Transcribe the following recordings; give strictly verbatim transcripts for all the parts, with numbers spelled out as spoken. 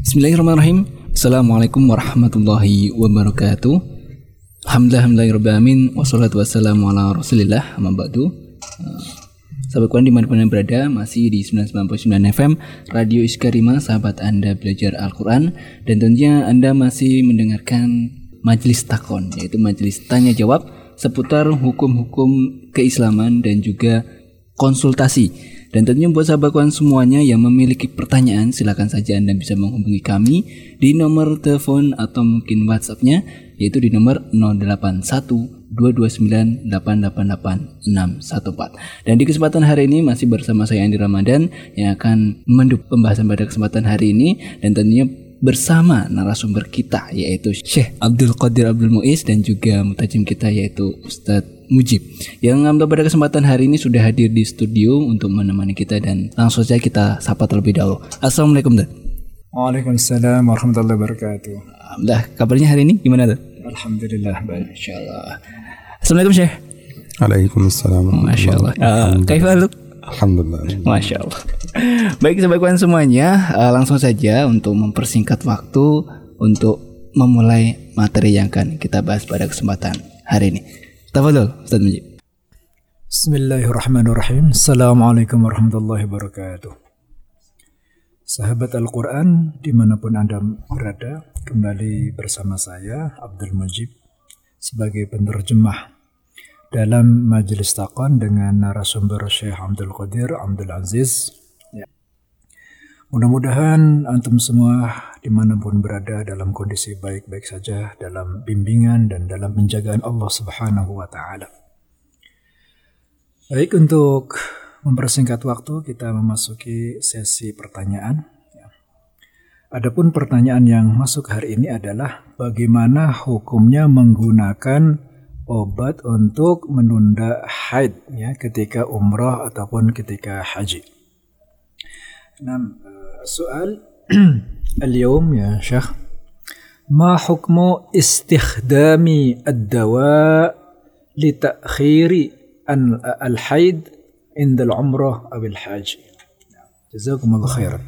Bismillahirrahmanirrahim. Assalamualaikum warahmatullahi wabarakatuh. Alhamdulillahirrahmanirrahim. Wassalatu wassalamu ala rasulillah. Amma ba'du. Sahabat Quran dimanapun Anda berada, masih di sembilan puluh sembilan koma sembilan F M Radio Iskarima, sahabat Anda belajar Al-Quran. Dan tentunya Anda masih mendengarkan Majelis Takon, yaitu majelis tanya jawab seputar hukum-hukum keislaman dan juga konsultasi. Dan tentunya buat sahabat Quran semuanya yang memiliki pertanyaan, silakan saja Anda bisa menghubungi kami di nomor telepon atau mungkin WhatsApp-nya, yaitu di nomor nol delapan satu dua dua sembilan delapan delapan delapan enam satu empat. Dan di kesempatan hari ini masih bersama saya Andi Ramadan yang akan mendukung pembahasan pada kesempatan hari ini, dan tentunya bersama narasumber kita yaitu Syekh Abdul Qadir Abdul Muiz dan juga mutajim kita yaitu Ustadz Mujib, yang pada kesempatan hari ini sudah hadir di studio untuk menemani kita. Dan langsung saja kita sapa terlebih dahulu. Assalamualaikum, Dad. Waalaikumsalam warahmatullahi wabarakatuh. Alhamdulillah, kabarnya hari ini gimana, Dad? Alhamdulillah baik, insyaallah. Assalamualaikum, Syekh. Waalaikumsalam. Masyaallah. Uh, Kaifal? Alhamdulillah. Masya Allah. Baik sahabat Quran semuanya, uh, langsung saja untuk mempersingkat waktu untuk memulai materi yang akan kita bahas pada kesempatan hari ini. Tafadhol, Ustaz Mujib. Bismillahirrahmanirrahim. Assalamualaikum warahmatullahi wabarakatuh. Sahabat Al-Quran dimanapun Anda berada, kembali bersama saya Abdul Mujib sebagai penerjemah dalam Majelis Takon dengan narasumber Syekh Abdul Qadir Abdul Aziz. Ya. Mudah-mudahan antum semua dimanapun berada dalam kondisi baik-baik saja, dalam bimbingan dan dalam penjagaan Allah Subhanahu wa Ta'ala. Baik, untuk mempersingkat waktu kita memasuki sesi pertanyaan. Ya. Adapun pertanyaan yang masuk hari ini adalah bagaimana hukumnya menggunakan obat untuk menunda haid ya ketika umrah ataupun ketika haji. Nah, soal اليوم يا شيخ ما حكم استخدام الدواء لتأخير الحيض عند العمرة أو الحج. جزاكم الله خيرا.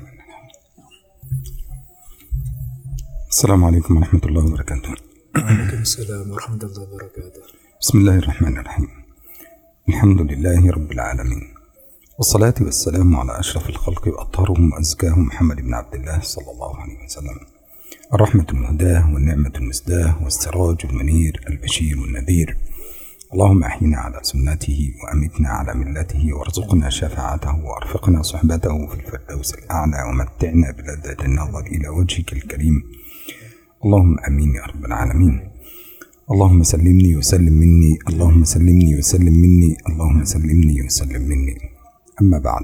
السلام عليكم ورحمة الله وبركاته. وعليكم السلام ورحمة الله وبركاته. بسم الله الرحمن الرحيم. الحمد لله رب العالمين، والصلاة والسلام على أشرف الخلق وأطهرهم وأزكاهم محمد بن عبد الله صلى الله عليه وسلم، الرحمة المهداة والنعمة المسداة والسراج المنير البشير والنذير. اللهم أحينا على سنته وأمتنا على ملته وارزقنا شفاعته وأرفقنا صحبته في الفردوس الأعلى ومتعنا بلذة النظر إلى وجهك الكريم. اللهم أمين يا رب العالمين. اللهم سلمني وسلم مني، اللهم سلمني وسلم مني، اللهم سلمني وسلم مني. أما بعد،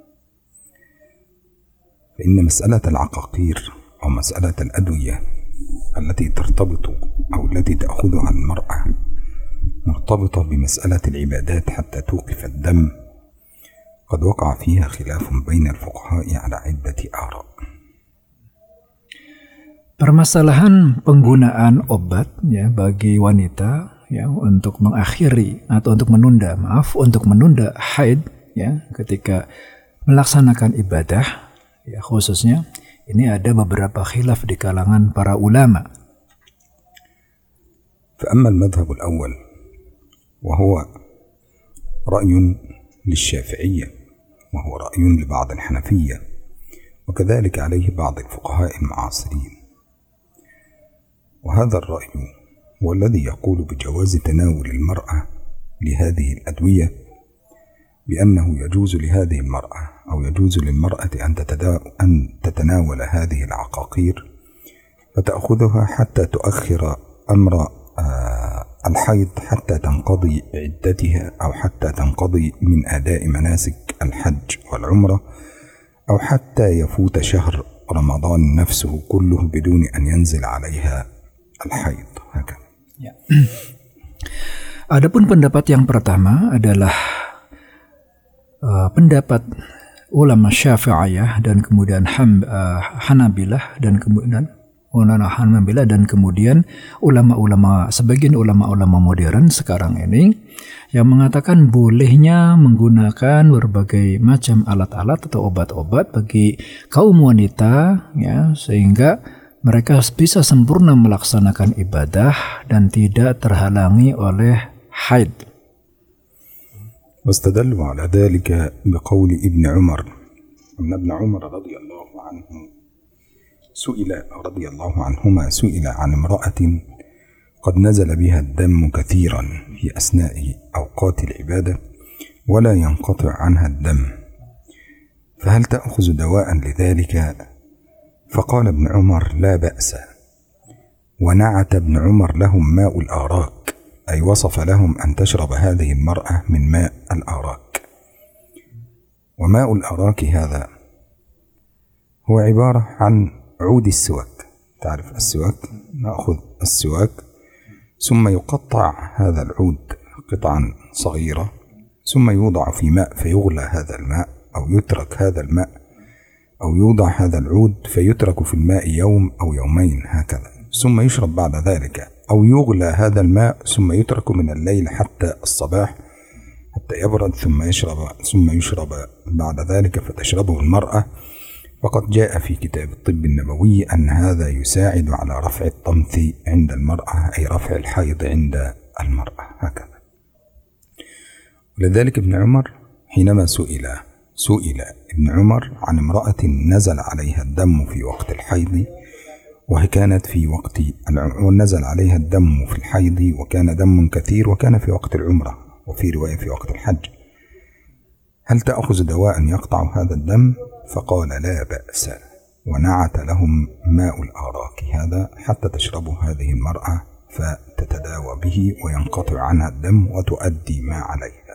فإن مسألة العقاقير أو مسألة الأدوية التي ترتبط أو التي تأخذها المرأة مرتبطة بمسألة العبادات حتى توقف الدم، قد وقع فيها خلاف بين الفقهاء على عدة آراء. Permasalahan penggunaan obat ya bagi wanita ya untuk mengakhiri atau untuk menunda, maaf, untuk menunda haid ya ketika melaksanakan ibadah ya, khususnya ini ada beberapa khilaf di kalangan para ulama. فأما المذهب الأول وهو رأي للشافعية وهو رأي لبعض الحنفية وكذلك عليه بعض الفقهاء المعاصرين، وهذا الرأي هو الذي يقول بجواز تناول المرأة لهذه الأدوية، بأنه يجوز لهذه المرأة أو يجوز للمرأة أن تتناول هذه العقاقير فتأخذها حتى تؤخر أمر الحيض حتى تنقضي عدتها أو حتى تنقضي من أداء مناسك الحج والعمرة أو حتى يفوت شهر رمضان نفسه كله بدون أن ينزل عليها الحيض. هكذا. Ya. Adapun pendapat yang pertama adalah uh, pendapat ulama Syafi'iyah dan kemudian ham, uh, Hanabilah dan kemudian menahan membela, dan kemudian ulama-ulama, sebagian ulama-ulama modern sekarang ini yang mengatakan bolehnya menggunakan berbagai macam alat-alat atau obat-obat bagi kaum wanita, ya, sehingga mereka bisa sempurna melaksanakan ibadah dan tidak terhalangi oleh haid. واستدلوا على ذلك بقول ابن عمر أن ابن عمر رضي الله عنه سئل رضي الله عنهما سئل عن امرأة قد نزل بها الدم كثيرا في أثناء أوقات العبادة ولا ينقطع عنها الدم، فهل تأخذ دواء لذلك؟ فقال ابن عمر: لا بأس. ونعت ابن عمر لهم ماء الآراك، أي وصف لهم أن تشرب هذه المرأة من ماء الآراك. وماء الآراك هذا هو عبارة عن عود السواك، تعرف السواك، نأخذ السواك ثم يقطع هذا العود قطعا صغيرة ثم يوضع في ماء فيغلى هذا الماء، أو يترك هذا الماء أو يوضع هذا العود فيترك في الماء يوم أو يومين هكذا، ثم يشرب بعد ذلك، أو يغلى هذا الماء ثم يترك من الليل حتى الصباح حتى يبرد ثم يشرب ثم يشرب بعد ذلك فتشربه المرأة. وقد جاء في كتاب الطب النبوي أن هذا يساعد على رفع الطمث عند المرأة، أي رفع الحيض عند المرأة هكذا. ولذلك ابن عمر حينما سئل سئل ابن عمر عن امرأة نزل عليها الدم في وقت الحيض وهي كانت في وقت ونزل عليها الدم في الحيض وكان دم كثير وكان في وقت العمرة، وفي رواية في وقت الحج، هل تأخذ دواء يقطع هذا الدم؟ فقال: لا بأس. ونعت لهم ماء الآراك هذا حتى تشربه هذه المرأة فتتداوى به وينقطع عنها الدم وتؤدي ما عليها.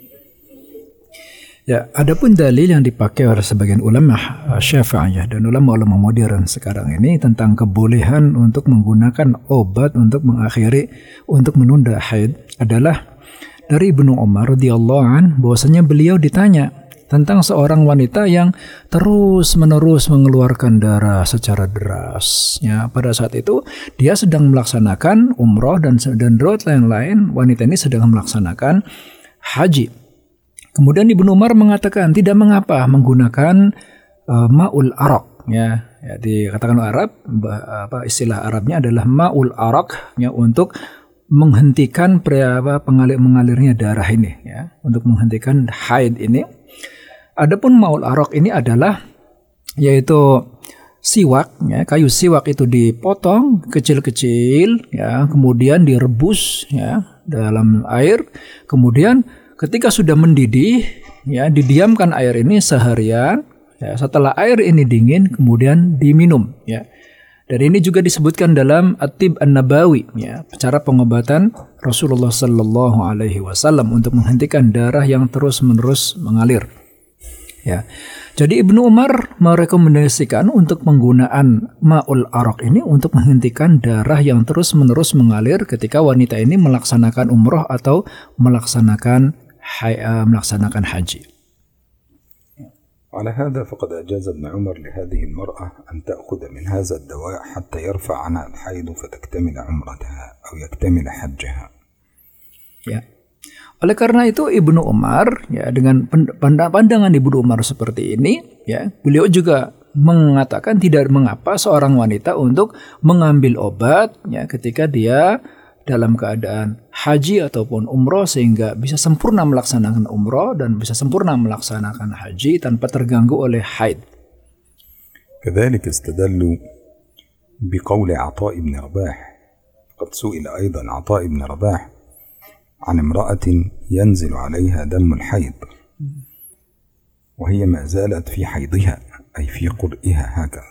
Ya, adapun dalil yang dipakai oleh sebagian ulama Syafi'iyah dan ulama-ulama modern sekarang ini tentang kebolehan untuk menggunakan obat untuk mengakhiri, untuk menunda haid adalah dari Ibnu Umar radhiyallahu an, bahwasanya beliau ditanya tentang seorang wanita yang terus-menerus mengeluarkan darah secara deras. Ya, pada saat itu dia sedang melaksanakan umroh dan dan riwayat lain-lain wanita ini sedang melaksanakan haji. Kemudian Ibnu Umar mengatakan tidak mengapa menggunakan uh, ma'ul arak, ya, ya dikatakan Arab, apa istilah Arabnya adalah ma'ul arak, ya, untuk menghentikan apa, pengalir mengalirnya darah ini, ya, untuk menghentikan haid ini. Adapun ma'ul arak ini adalah yaitu siwak, ya, kayu siwak itu dipotong kecil-kecil, ya, kemudian direbus, ya, dalam air, kemudian ketika sudah mendidih, ya, didiamkan air ini seharian, ya, setelah air ini dingin kemudian diminum, ya. Dan ini juga disebutkan dalam At-Tib An-Nabawi, ya, cara pengobatan Rasulullah sallallahu alaihi wasallam untuk menghentikan darah yang terus-menerus mengalir. Ya. Jadi Ibnu Umar merekomendasikan untuk penggunaan ma'ul arak ini untuk menghentikan darah yang terus-menerus mengalir ketika wanita ini melaksanakan umroh atau melaksanakan melaksanakan haji. على هذا فقد أجاز ابن عمر لهذه المرأة أن تأخذ من هذا الدواء حتى يرفع عنها الحيض فتكتمل عمرتها أو يكتمل حجها. Ya. Oleh karena itu Ibnu Umar, ya, dengan pandangan Ibnu Umar seperti ini, ya, beliau juga mengatakan tidak mengapa seorang wanita untuk mengambil obat, ya, ketika dia dalam keadaan haji ataupun umroh sehingga bisa sempurna melaksanakan umroh dan bisa sempurna melaksanakan haji tanpa terganggu oleh haid. كذلك استدلوا بقول عطاء بن رباح، قد سئل أيضا عطاء بن رباح عن امرأة ينزل عليها دم الحيض وهي ما زالت في حيضها أي في قرئها هكذا.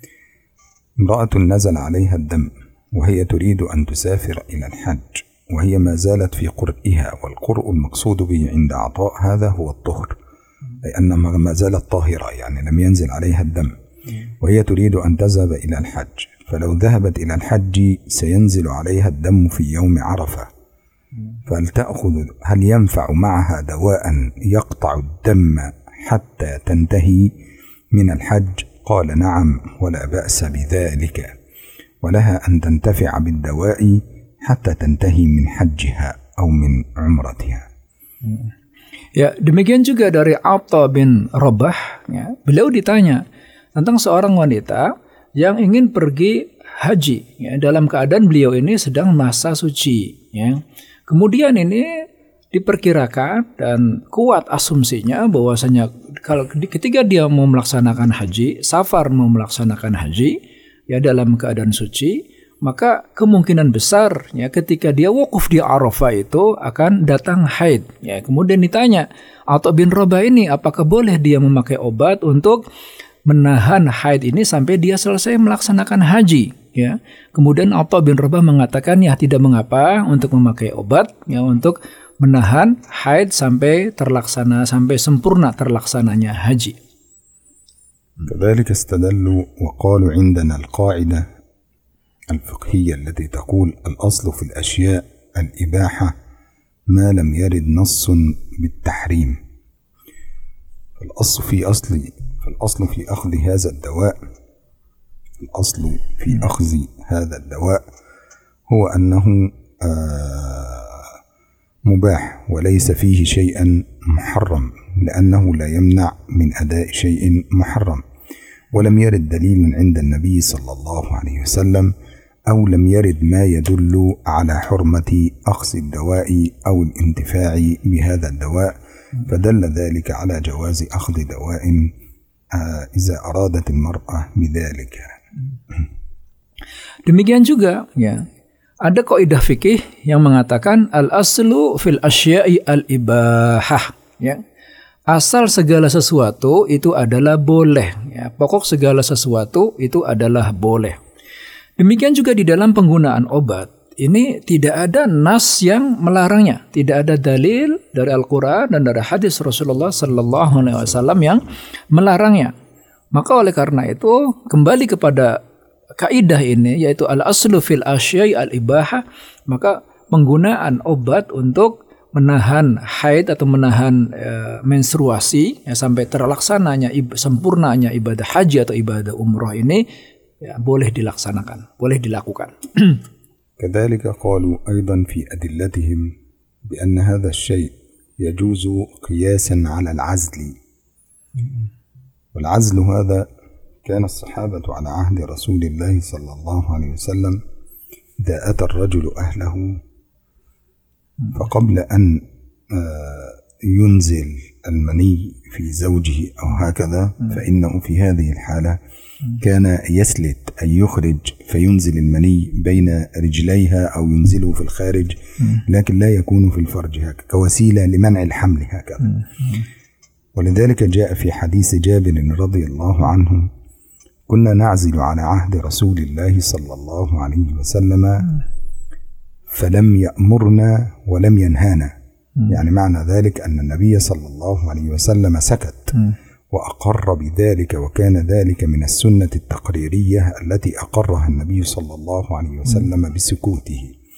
امرأة نزل عليها الدم وهي تريد أن تسافر إلى الحج وهي ما زالت في قرئها، والقرء المقصود به عند عطاء هذا هو الطهر، أي أنها ما زالت طاهرة، يعني لم ينزل عليها الدم، وهي تريد أن تذهب إلى الحج، فلو ذهبت إلى الحج سينزل عليها الدم في يوم عرفة، فهل تأخذ هل ينفع معها دواء يقطع الدم حتى تنتهي من الحج؟ قال: نعم ولا بأس بذلك. ولها أن تنتفع بالدواء حتى تنتهي من حجها أو من عمرتها. Ya, demikian juga dari Atha bin Rabah, ya, beliau ditanya tentang seorang wanita yang ingin pergi haji, ya, dalam keadaan beliau ini sedang masa suci, ya. Kemudian ini diperkirakan dan kuat asumsinya bahwasanya kalau ketika dia mau melaksanakan haji, safar mau melaksanakan haji, ya, dalam keadaan suci, maka kemungkinan besar, ya, ketika dia wukuf di Arafah itu akan datang haid. Ya, kemudian ditanya, Atha bin Rabah ini apakah boleh dia memakai obat untuk menahan haid ini sampai dia selesai melaksanakan haji? Ya, kemudian Atha bin Rabah mengatakan, ya, tidak mengapa untuk memakai obat, ya, untuk menahan haid sampai terlaksana, sampai sempurna terlaksananya haji. كذلك استدلوا وقالوا عندنا القاعدة الفقهية التي تقول الأصل في الأشياء الإباحة ما لم يرد نص بالتحريم. الأصل في أصل فالأصل في أخذ هذا الدواء الأصل في أخذ هذا الدواء هو أنه مباح وليس فيه شيئا محرم، لأنه لا يمنع من أداء شيء محرم، ولم يرد دليل عند النبي صلى الله عليه وسلم أو لم يرد ما يدل على حرمة أخذ الدواء أو الانتفاع بهذا الدواء، فدل ذلك على جواز أخذ دواء إذا أرادت المرأة بذلك. Demikian juga, ya, ada kaidah fikih yang mengatakan al-aslu fil asya'i al-ibahah, ya. Asal segala sesuatu itu adalah boleh, ya. Pokok segala sesuatu itu adalah boleh. Demikian juga di dalam penggunaan obat. Ini tidak ada nas yang melarangnya, tidak ada dalil dari Al-Quran dan dari hadis Rasulullah Sallallahu Alaihi Wasallam yang melarangnya. Maka oleh karena itu kembali kepada kaidah ini, yaitu al-aslu fil asya'i al-ibahah, maka penggunaan obat untuk menahan haid atau menahan e, menstruasi, ya, sampai terlaksananya sempurnanya ibadah haji atau ibadah umroh ini, ya, boleh dilaksanakan, boleh dilakukan. كذلك قالوا أيضا في أدلتهم بأن هذا الشيء يجوز قياسا على العزل، والعزل هذا كان الصحابة على عهد رسول الله صلى الله عليه وسلم إذا أتى الرجل أهله فقبل أن ينزل المني في زوجه أو هكذا، فإنه في هذه الحالة كان يسلت أي يخرج فينزل المني بين رجليها أو ينزله في الخارج، لكن لا يكون في الفرج هكذا كوسيلة لمنع الحمل هكذا. ولذلك جاء في حديث جابر رضي الله عنه كنا نعزل على عهد رسول الله صلى الله عليه وسلم فلم يأمرنا ولم ينهانا، يعني معنى ذلك أن النبي صلى الله عليه وسلم سكت وأقر بذلك، وكان ذلك من السنة التقريرية التي أقرها النبي صلى الله عليه وسلم بسكوته.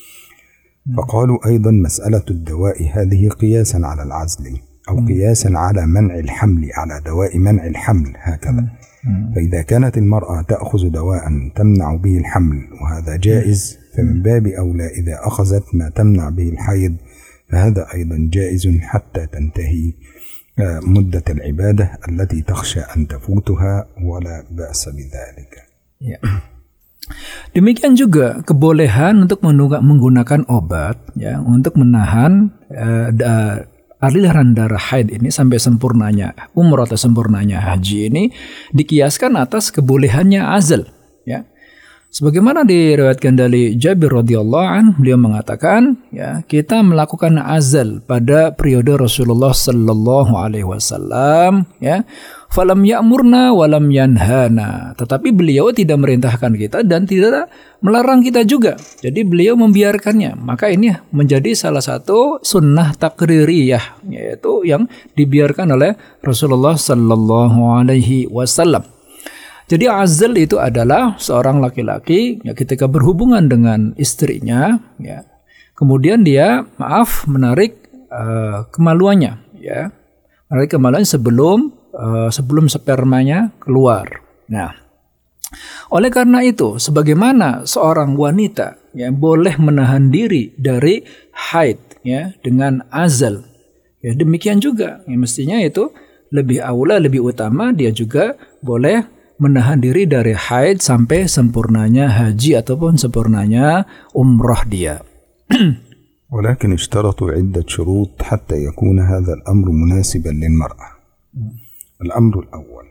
فقالوا أيضا مسألة الدواء هذه قياسا على العزل أو قياسا على منع الحمل، على دواء منع الحمل هكذا. فإذا كانت المرأة تأخذ دواء تمنع به الحمل وهذا جائز، فمن باب أولى إذا أخذت ما تمنع به الحيض فهذا أيضا جائز حتى تنتهي مدة العبادة التي تخشى أن تفوتها ولا بأس بذلك. Ya. Demikian juga kebolehan untuk menggunakan obat, ya, untuk menahan uh, da, aliran darah haid ini sampai sempurnanya umrah atau sempurnanya haji ini dikiaskan atas kebolehannya azal, ya. Sebagaimana diriwayatkan dari Jabir radhiyallahu anhu, beliau mengatakan, ya, kita melakukan azal pada periode Rasulullah sallallahu alaihi wasallam, ya. Falam ya'murna walam yanhana. Tetapi beliau tidak merintahkan kita dan tidak melarang kita juga. Jadi beliau membiarkannya. Maka ini menjadi salah satu sunnah takririyah, yaitu yang dibiarkan oleh Rasulullah sallallahu alaihi wasallam. Jadi azal itu adalah seorang laki-laki, ya, ketika berhubungan dengan istrinya, ya, kemudian dia maaf menarik uh, kemaluannya, ya, menarik kemaluannya sebelum uh, sebelum spermanya keluar. Nah, Oleh karena itu, sebagaimana seorang wanita ya boleh menahan diri dari haid ya dengan azal, ya demikian juga ya, mestinya itu lebih aula, lebih utama dia juga boleh menahan diri dari haid sampai sempurnanya haji ataupun sempurnanya umrah dia. ولكن اشترطوا عدة شروط حتى يكون هذا الأمر مناسبا للمرأة. الأمر الأول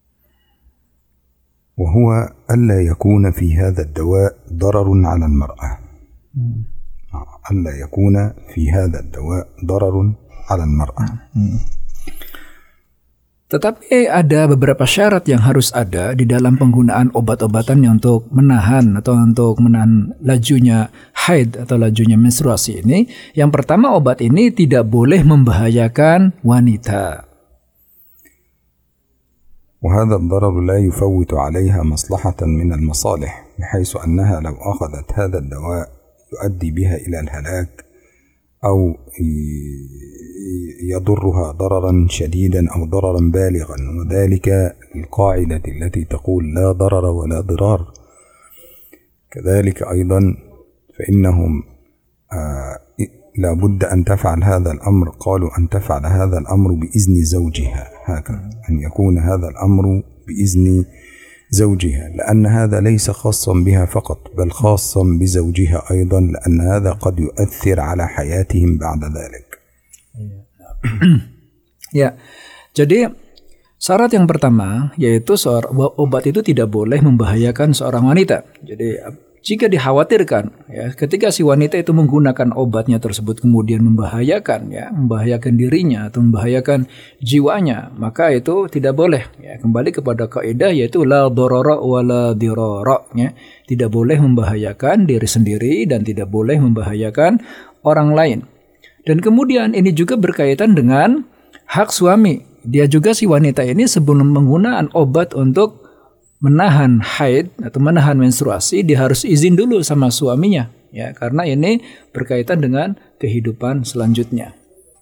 وهو ألا يكون في هذا الدواء ضرر على المرأة. ألا يكون في هذا الدواء ضرر على المرأة. Tetapi ada beberapa syarat yang harus ada di dalam penggunaan obat-obatan yang untuk menahan atau untuk menahan lajunya haid atau lajunya menstruasi ini. Yang pertama, obat ini tidak boleh membahayakan wanita. وهذا الضرر لا يفوت عليها مصلحة من المصالح بحيث أنها لو أخذت هذا الدواء يؤدي بها إلى الهلاك أو يضرها ضررا شديدا أو ضررا بالغا، وذلك القاعدة التي تقول لا ضرر ولا ضرار. كذلك أيضا فإنهم آه لا بد أن تفعل هذا الأمر، قالوا أن تفعل هذا الأمر بإذن زوجها، هكذا أن يكون هذا الأمر بإذن زوجها، لأن هذا ليس خاصا بها فقط بل خاصا بزوجها أيضا، لأن هذا قد يؤثر على حياتهم بعد ذلك. Ya, jadi syarat yang pertama yaitu seorang, obat itu tidak boleh membahayakan seorang wanita. Jadi jika dikhawatirkan ya ketika si wanita itu menggunakan obatnya tersebut kemudian membahayakan ya membahayakan dirinya atau membahayakan jiwanya, maka itu tidak boleh ya. Kembali kepada kaidah yaitu la dharara wa la dirara ya. Tidak boleh membahayakan diri sendiri dan tidak boleh membahayakan orang lain. Dan kemudian ini juga berkaitan dengan hak suami. Dia juga si wanita ini sebelum menggunakan obat untuk menahan haid atau menahan menstruasi, dia harus izin dulu sama suaminya ya, karena ini berkaitan dengan kehidupan selanjutnya.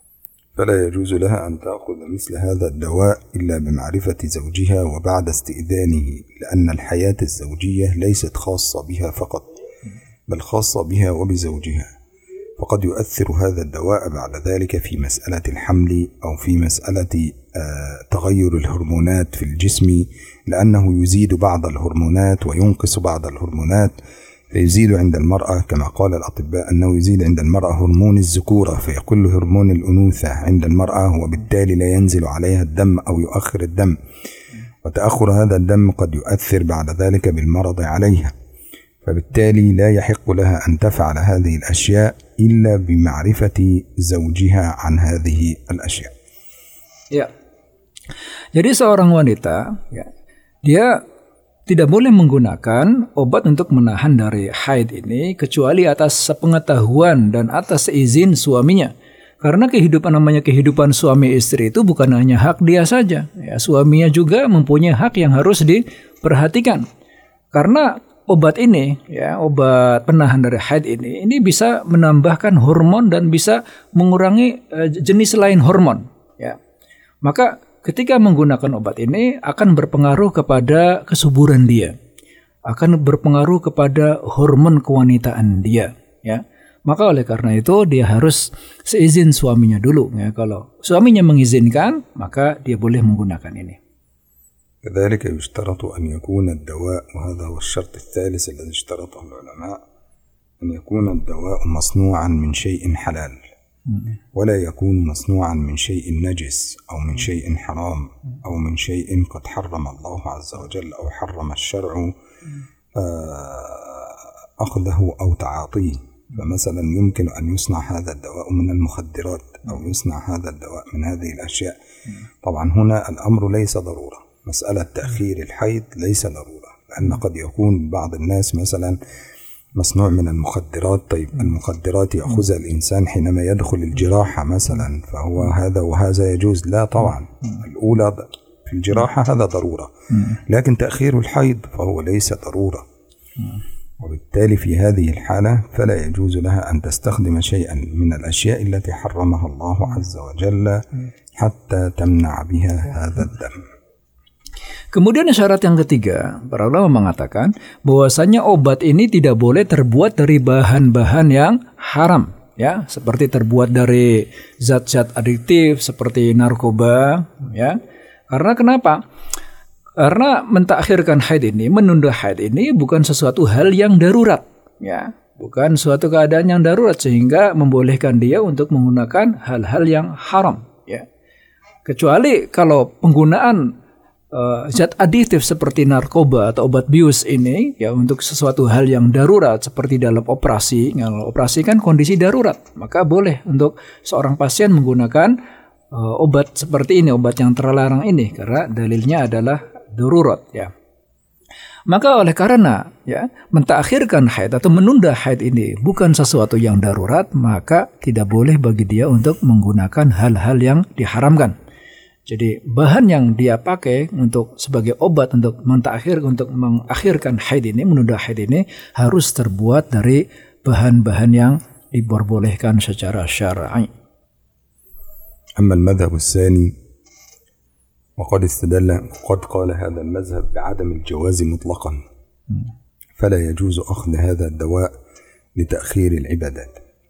فلا يجوز لها أن تأخذ مثل هذا الدواء إلا بمعرفة زوجها وبعد استئذانه، لأن الحياة الزوجية ليست خاصة بها فقط بل خاصة بها وبزوجها، فقد يؤثر هذا الدواء بعد ذلك في مسألة الحمل أو في مسألة تغير الهرمونات في الجسم، لأنه يزيد بعض الهرمونات وينقص بعض الهرمونات، فيزيد عند المرأة كما قال الأطباء أنه يزيد عند المرأة هرمون الذكورة فيقل هرمون الأنوثة عند المرأة، وبالتالي لا ينزل عليها الدم أو يؤخر الدم، وتأخر هذا الدم قد يؤثر بعد ذلك بالمرض عليها، فبالتالي لا يحق لها أن تفعل هذه الأشياء إلا بمعرفة زوجها عن هذه الأشياء. Ya, jadi seorang wanita, ya, dia tidak boleh menggunakan obat untuk menahan dari haid ini kecuali atas sepengetahuan dan atas seizin suaminya. Karena kehidupan namanya kehidupan suami istri itu bukan hanya hak dia saja, ya, suaminya juga mempunyai hak yang harus diperhatikan. Karena obat ini, ya, obat penahan dari haid ini, ini bisa menambahkan hormon dan bisa mengurangi uh, jenis lain hormon. Ya, maka ketika menggunakan obat ini akan berpengaruh kepada kesuburan dia, akan berpengaruh kepada hormon kewanitaan dia. Ya, maka oleh karena itu dia harus seizin suaminya dulu. Ya, kalau suaminya mengizinkan, maka dia boleh menggunakan ini. كذلك يشترط أن يكون الدواء، وهذا هو الشرط الثالث الذي اشترطه العلماء، أن يكون الدواء مصنوعا من شيء حلال ولا يكون مصنوعا من شيء نجس أو من شيء حرام أو من شيء قد حرم الله عز وجل أو حرم الشرع أخذه أو تعاطيه. فمثلا يمكن أن يصنع هذا الدواء من المخدرات أو يصنع هذا الدواء من هذه الأشياء. طبعا هنا الأمر ليس ضرورة، مسألة تأخير الحيض ليس ضرورة، لأن قد يكون بعض الناس مثلا مصنوع من المخدرات، طيب المخدرات يأخذها الإنسان حينما يدخل الجراحة مثلا، فهو هذا وهذا يجوز؟ لا طبعا، الأولى في الجراحة هذا ضرورة، لكن تأخير الحيض فهو ليس ضرورة، وبالتالي في هذه الحالة فلا يجوز لها أن تستخدم شيئا من الأشياء التي حرمها الله عز وجل حتى تمنع بها هذا الدم. Kemudian syarat yang ketiga, para ulama mengatakan bahwasanya obat ini tidak boleh terbuat dari bahan-bahan yang haram, ya, seperti terbuat dari zat-zat adiktif seperti narkoba, ya. Karena kenapa? Karena mentakhirkan haid ini, menunda haid ini bukan sesuatu hal yang darurat, ya, bukan suatu keadaan yang darurat sehingga membolehkan dia untuk menggunakan hal-hal yang haram, ya. Kecuali kalau penggunaan Uh, zat adiktif seperti narkoba atau obat bius ini ya untuk sesuatu hal yang darurat seperti dalam operasi. Kalau operasi kan kondisi darurat, maka boleh untuk seorang pasien menggunakan uh, obat seperti ini, obat yang terlarang ini karena dalilnya adalah darurat, ya. Maka oleh karena ya mentakhirkan haid atau menunda haid ini bukan sesuatu yang darurat, maka tidak boleh bagi dia untuk menggunakan hal-hal yang diharamkan. Jadi bahan yang dia pakai untuk sebagai obat untuk mentakhir untuk mengakhirkan haid ini, menunda haid ini harus terbuat dari bahan-bahan yang diperbolehkan secara syar'i. أما المذهب الثاني وقد استدل قد قال هذا المذهب بعدم الجواز مطلقا فلا يجوز أخذ هذا الدواء لتأخير العبادات.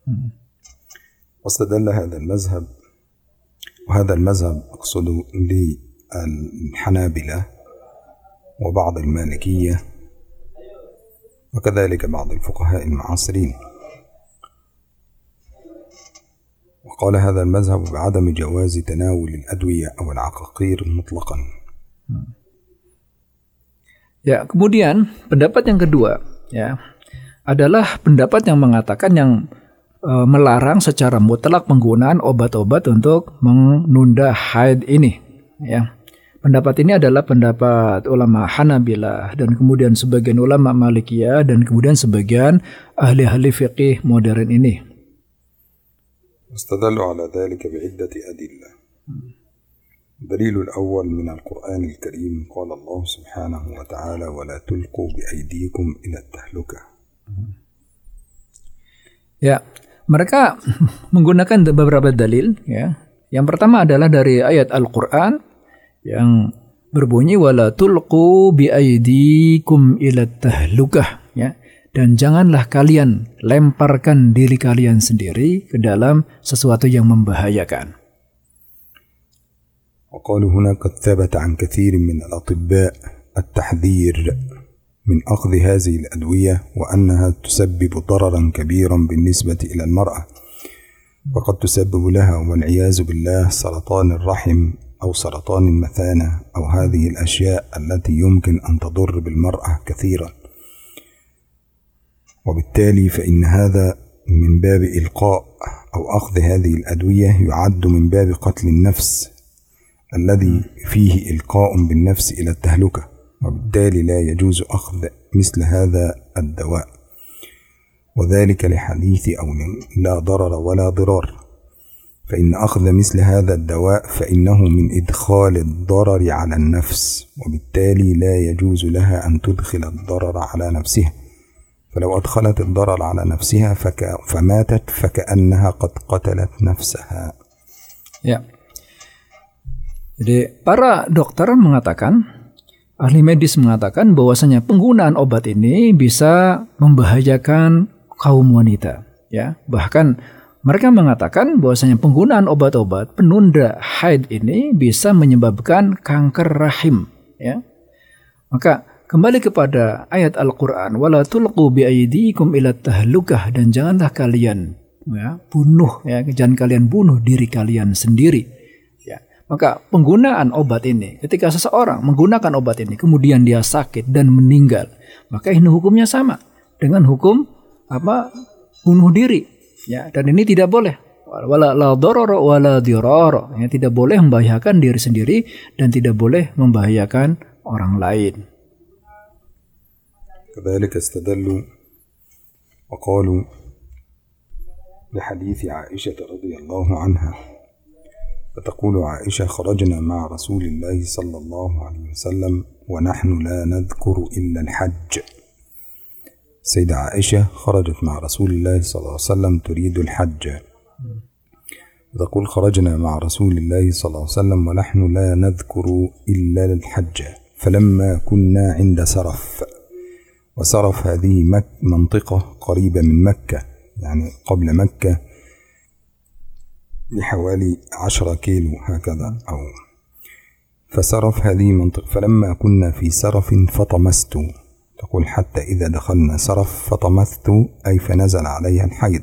واستدل هذا المذهب وهذا المذهب أقصد للحنابلة وبعض المالكية وكذلك بعض الفقهاء المعاصرين، وقال هذا المذهب بعدم جواز تناول الأدوية أو العقاقير مطلقا. Ya, kemudian pendapat yang kedua ya adalah pendapat yang mengatakan yang melarang secara mutlak penggunaan obat-obat untuk menunda haid ini, ya. Pendapat ini adalah pendapat ulama Hanabilah dan kemudian sebagian ulama Malikiyah dan kemudian sebagian ahli-ahli fiqih modern ini. استدلوا على ذلك بعدة أدلة. الدليل الأول من القرآن الكريم قال الله سبحانه وتعالى ولا تلقوا بأيديكم إلى التهلكة. Ya. Mereka menggunakan beberapa dalil, ya. Yang pertama adalah dari ayat Al-Qur'an yang berbunyi wala tulqu biaydikum ila tahlukah, ya. Dan janganlah kalian lemparkan diri kalian sendiri ke dalam sesuatu yang membahayakan. وقالوا هنا قد ثبت عن كثير من الأطباء التحذير من أخذ هذه الأدوية وأنها تسبب ضررا كبيرا بالنسبة إلى المرأة، وقد تسبب لها والعياذ بالله سرطان الرحم أو سرطان المثانة أو هذه الأشياء التي يمكن أن تضر بالمرأة كثيرا، وبالتالي فإن هذا من باب إلقاء أو أخذ هذه الأدوية يعد من باب قتل النفس الذي فيه إلقاء بالنفس إلى التهلكة، وبالتالي لا يجوز أخذ مثل هذا الدواء، وذلك لحديث أو لا ضرر ولا ضرار، فإن أخذ مثل هذا الدواء فإنه من إدخال الضرر على النفس، وبالتالي لا يجوز لها أن تدخل الضرر على نفسها، فلو أدخلت الضرر على نفسها فك... فماتت فكأنها قد قتلت نفسها. Ya. Jadi para dokter mengatakan, ahli medis mengatakan bahwasanya penggunaan obat ini bisa membahayakan kaum wanita, ya. Bahkan mereka mengatakan bahwasanya penggunaan obat-obat penunda haid ini bisa menyebabkan kanker rahim, ya. Maka kembali kepada ayat Al-Qur'an wala tulqu biaydikum ila tahlukah, dan janganlah kalian ya bunuh ya jangan kalian bunuh diri kalian sendiri. Maka penggunaan obat ini, ketika seseorang menggunakan obat ini kemudian dia sakit dan meninggal, maka ini hukumnya sama dengan hukum apa bunuh diri, ya. Dan ini tidak boleh. Wala la darara wala dirara, ya, tidak boleh membahayakan diri sendiri dan tidak boleh membahayakan orang lain. كذلك استدلوا وقالوا بحديث عائشة رضي الله عنها، فتقول عائشة خرجنا مع رسول الله صلى الله عليه وسلم ونحن لا نذكر إلا الحج. سيدة عائشة خرجت مع رسول الله صلى الله عليه وسلم تريد الحج، تقول خرجنا مع رسول الله صلى الله عليه وسلم ونحن لا نذكر إلا الحج، فلما كنا عند سرف، وسرف هذه مك منطقة قريبة من مكة، يعني قبل مكة بحوالي عشرة كيلو هكذا أو فسرف هذه منطقة. فلما كنا في سرف فطمست، تقول حتى إذا دخلنا سرف فطمست أي فنزل عليها الحيض،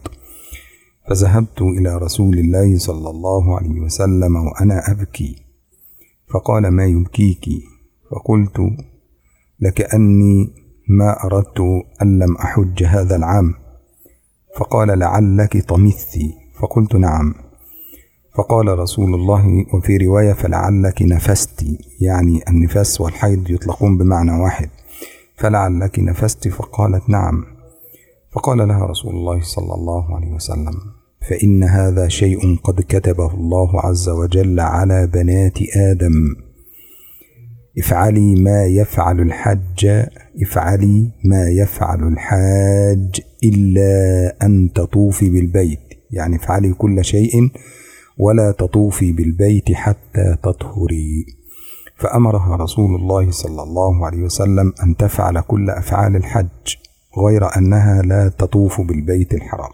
فذهبت إلى رسول الله صلى الله عليه وسلم وأنا أبكي، فقال ما يبكيك؟ فقلت لكأني ما أردت أن لم أحج هذا العام. فقال لعلك طمثتي، فقلت نعم. فقال رسول الله وفي رواية فلعلك نفستي، يعني النفاس والحيض يطلقون بمعنى واحد، فلعلك نفستي، فقالت نعم. فقال لها رسول الله صلى الله عليه وسلم فإن هذا شيء قد كتبه الله عز وجل على بنات آدم، افعلي ما يفعل الحج افعلي ما يفعل الحاج إلا أن تطوفي بالبيت، يعني افعلي كل شيء ولا تطوفي بالبيت حتى تطهري. فأمرها رسول الله صلى الله عليه وسلم أن تفعل كل أفعال الحج غير أنها لا تطوف بالبيت الحرام.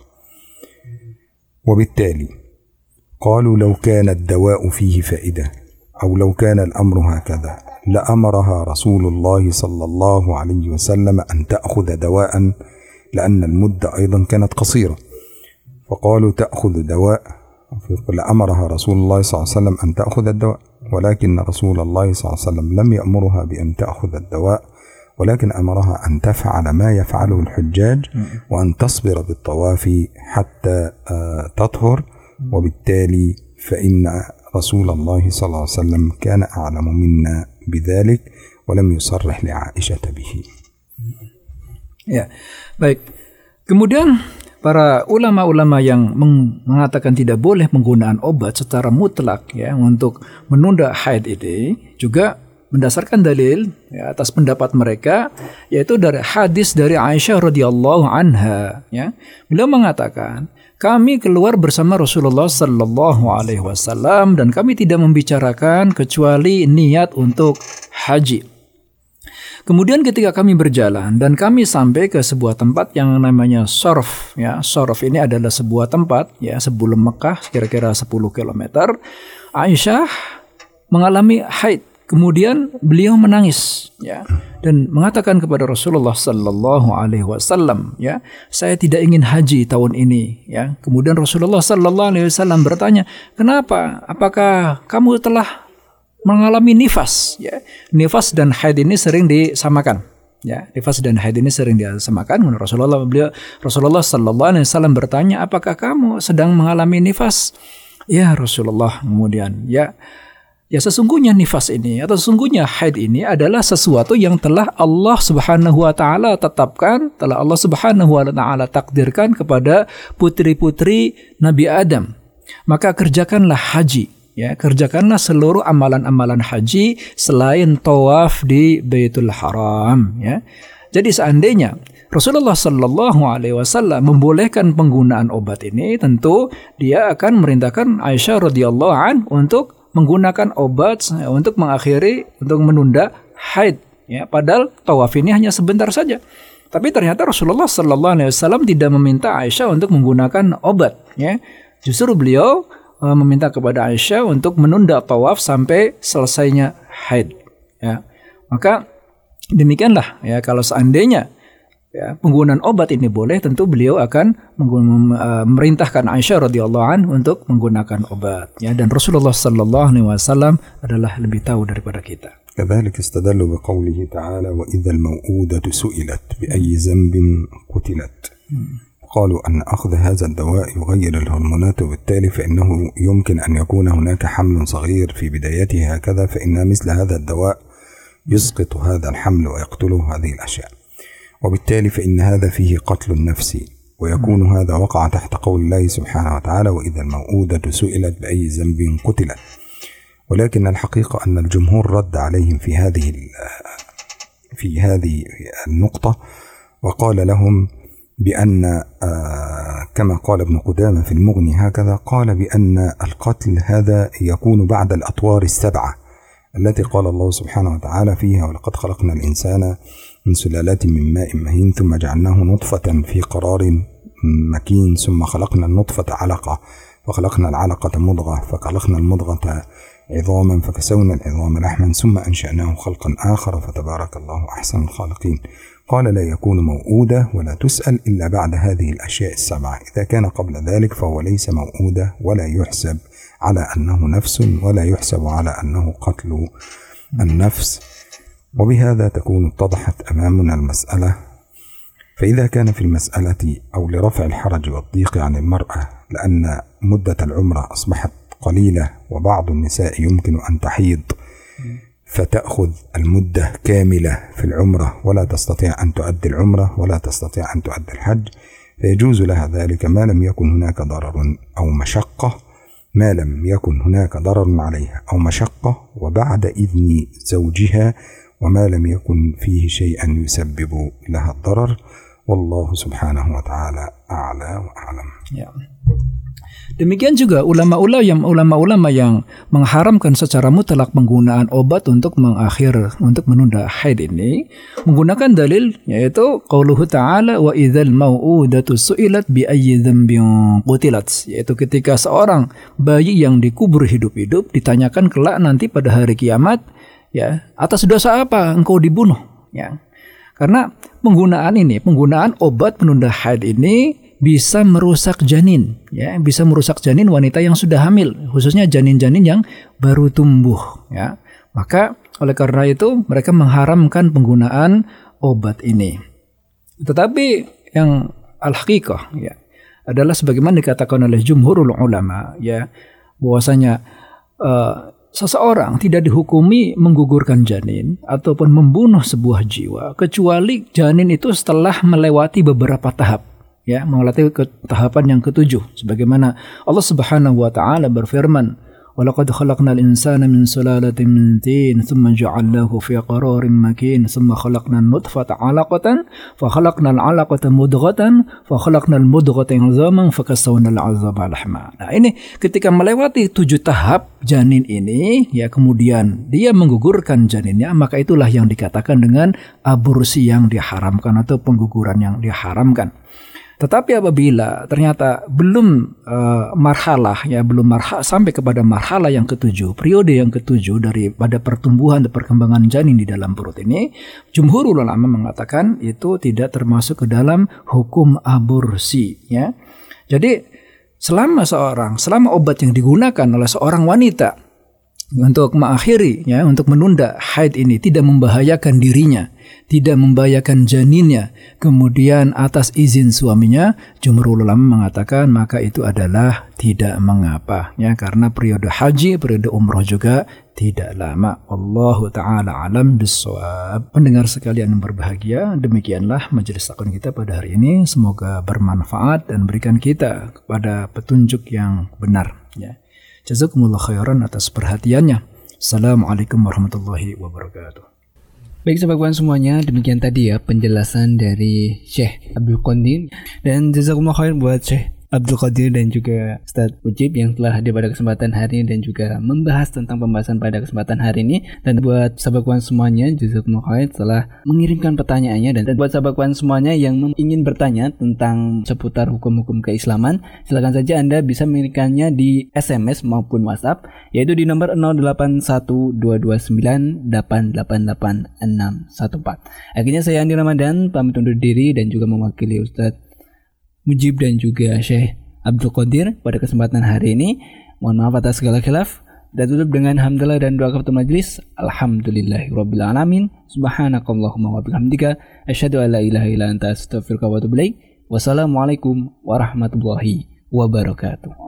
وبالتالي قالوا لو كان الدواء فيه فائدة أو لو كان الأمر هكذا لأمرها رسول الله صلى الله عليه وسلم أن تأخذ دواء، لأن المدة أيضا كانت قصيرة، فقالوا تأخذ دواء، لأمرها رسول الله صلى الله عليه وسلم أن تأخذ الدواء، ولكن رسول الله صلى الله عليه وسلم لم يأمرها بأن تأخذ الدواء، ولكن أمرها أن تفعل ما يفعله الحجاج وأن تصبر بالطواف حتى تطهر. وبالتالي فإن رسول الله صلى الله عليه وسلم كان أعلم منا بذلك ولم يصرح لعائشة به. Ya, baik. Kemudian para ulama-ulama yang mengatakan tidak boleh penggunaan obat secara mutlak ya untuk menunda haid ini juga mendasarkan dalil ya, atas pendapat mereka, yaitu dari hadis dari Aisyah radhiyallahu anha ya. Beliau mengatakan, kami keluar bersama Rasulullah sallallahu alaihi wasallam dan kami tidak membicarakan kecuali niat untuk haji. Kemudian ketika kami berjalan dan kami sampai ke sebuah tempat yang namanya Sorf ya. Sorf ini adalah sebuah tempat ya sebelum Mekah kira-kira sepuluh kilometer. Aisyah mengalami haid. Kemudian beliau menangis ya dan mengatakan kepada Rasulullah sallallahu alaihi wasallam ya, saya tidak ingin haji tahun ini ya. Kemudian Rasulullah sallallahu alaihi wasallam bertanya, "Kenapa? Apakah kamu telah mengalami nifas?" Ya. Nifas dan haid ini sering disamakan. Ya, nifas dan haid ini sering disamakan. Rasulullah beliau Rasulullah sallallahu alaihi wasallam bertanya, "Apakah kamu sedang mengalami nifas?" Ya Rasulullah. Kemudian ya Ya sesungguhnya nifas ini atau sesungguhnya haid ini adalah sesuatu yang telah Allah Subhanahu wa taala tetapkan, telah Allah Subhanahu wa taala takdirkan kepada putri-putri Nabi Adam. Maka kerjakanlah haji, ya, kerjakanlah seluruh amalan-amalan haji selain tawaf di Baitul Haram, ya. Jadi seandainya Rasulullah sallallahu alaihi wasallam membolehkan penggunaan obat ini, tentu dia akan merintahkan Aisyah radhiyallahu an untuk menggunakan obat untuk mengakhiri, untuk menunda haid. Ya, padahal tawaf ini hanya sebentar saja. Tapi ternyata Rasulullah Sallallahu Alaihi Wasallam tidak meminta Aisyah untuk menggunakan obat. Ya, justru beliau uh, meminta kepada Aisyah untuk menunda tawaf sampai selesainya haid. Ya, maka demikianlah. Ya, kalau seandainya ya, penggunaan obat ini boleh, tentu beliau akan memerintahkan Aisyah radhiyallahu anha untuk menggunakan obat. Ya, dan Rasulullah sallallahu alaihi wasallam adalah lebih tahu daripada kita. كذلك استدلوا بقوله تعالى وإذا الموءودة سئلت بأي ذنب قتلت قالوا أن أخذ هذا الدواء يغير الهرمونات وبالتالي فإنه يمكن أن يكون هناك حمل صغير في بدايته هكذا فإن مثل هذا الدواء يسقط هذا الحمل ويقتله هذه الأشياء وبالتالي فإن هذا فيه قتل النفس ويكون هذا وقع تحت قول الله سبحانه وتعالى وإذا الموءودة سئلت بأي ذنب قتلت. ولكن الحقيقة أن الجمهور رد عليهم في هذه في هذه النقطة وقال لهم بأن كما قال ابن قدامة في المغني هكذا قال بأن القتل هذا يكون بعد الأطوار السبعة التي قال الله سبحانه وتعالى فيها ولقد خلقنا الإنسان من سلالة من ماء مهين ثم جعلناه نطفة في قرار مكين ثم خلقنا النطفة علقة فخلقنا العلقة مضغة فخلقنا المضغة عظاما فكسونا العظام لحما ثم أنشأناه خلقا آخر فتبارك الله أحسن الخالقين. قال لا يكون موؤودة ولا تسأل إلا بعد هذه الأشياء السبعة. إذا كان قبل ذلك فهو ليس موؤودة ولا يحسب على أنه نفس ولا يحسب على أنه قتل النفس. وبهذا تكون اتضحت أمامنا المسألة. فإذا كان في المسألة أو لرفع الحرج والضيق عن المرأة لأن مدة العمرة أصبحت قليلة وبعض النساء يمكن أن تحيض فتأخذ المدة كاملة في العمرة ولا تستطيع أن تؤدي العمرة ولا تستطيع أن تؤدي الحج، فيجوز لها ذلك ما لم يكن هناك ضرر أو مشقة ما لم يكن هناك ضرر عليها أو مشقة وبعد إذن زوجها وما لم يكن فيه شيئا يسبب لها الضرر. والله subhanahu wa ta'ala a'la wa a'lam. Ya. Demikian juga ulama-ulama yang ulama-ulama yang mengharamkan secara mutlak penggunaan obat untuk mengakhir untuk menunda haid ini menggunakan dalil yaitu qauluhu ta'ala wa idzal mau'udatu su'ilat bi ayyi dzambin qutilat, yaitu ketika seorang bayi yang dikubur hidup-hidup ditanyakan kelak nanti pada hari kiamat, ya, atas dosa apa engkau dibunuh, ya. Karena penggunaan ini, penggunaan obat penunda haid ini bisa merusak janin, ya, bisa merusak janin wanita yang sudah hamil, khususnya janin-janin yang baru tumbuh, ya. Maka oleh karena itu mereka mengharamkan penggunaan obat ini. Tetapi yang al-haqiqah, ya, adalah sebagaimana dikatakan oleh jumhurul ulama, ya, bahwasanya uh, seseorang tidak dihukumi menggugurkan janin ataupun membunuh sebuah jiwa kecuali janin itu setelah melewati beberapa tahap, ya, melewati ke tahapan yang ketujuh, sebagaimana Allah Subhanahu wa taala berfirman, "Walaqad khalaqnal insana min sulalatin min tin, tsumma ja'alnahu fi qararin makin, tsumma khalaqnan nutfata 'alaqatan, fa khalaqnal 'alaqata mudghatan, fa khalaqnal mudghata 'idhaman, fa kasawna al-'idhama lahma." Nah, ini ketika melewati tujuh tahap janin ini, ya, kemudian dia menggugurkan janinnya, maka itulah yang dikatakan dengan aborsi yang diharamkan atau pengguguran yang diharamkan. Tetapi apabila ternyata belum uh, marhalah, ya, belum marhalah sampai kepada marhalah yang ketujuh, periode yang ketujuh daripada pertumbuhan dan perkembangan janin di dalam perut ini, jumhur ulama mengatakan itu tidak termasuk ke dalam hukum aborsi, ya. Jadi selama seorang, selama obat yang digunakan oleh seorang wanita untuk mengakhiri, ya, untuk menunda haid ini tidak membahayakan dirinya, tidak membahayakan janinnya, kemudian atas izin suaminya, jumhur ulama mengatakan maka itu adalah tidak mengapa, ya, karena periode haji, periode umroh juga tidak lama. Allahu ta'ala alam bissawab. Pendengar sekalian yang berbahagia, demikianlah majelis takon kita pada hari ini, semoga bermanfaat dan berikan kita kepada petunjuk yang benar, ya. Jazakumullah khairan atas perhatiannya. Assalamualaikum warahmatullahi wabarakatuh. Baik sahabat kawan semuanya, demikian tadi ya penjelasan dari Syekh Abdul Qadir, dan jazakumullah khair buat Syekh Abdul Qadir dan juga Ustaz Mujib yang telah hadir pada kesempatan hari ini dan juga membahas tentang pembahasan pada kesempatan hari ini. Dan buat sahabat kawan semuanya, jazakumullah khair telah mengirimkan pertanyaannya, dan buat sahabat kawan semuanya yang ingin bertanya tentang seputar hukum-hukum keislaman, silakan saja Anda bisa mengirimkannya di S M S maupun WhatsApp, yaitu di nomor nol delapan satu dua dua sembilan delapan delapan delapan enam satu empat. Akhirnya saya Andi Ramadan pamit undur diri dan juga mewakili Ustaz Mujib dan juga Syekh Abdul Qadir pada kesempatan hari ini. Mohon maaf atas segala khilaf, dan tutup dengan hamdalah dan doa kepada majelis. Alhamdulillahirabbil alamin. Subhanakallahumma wa bihamdika asyhadu an la ilaha illa anta astaghfiruka wa atubu ilaik. Wassalamualaikum warahmatullahi wabarakatuh.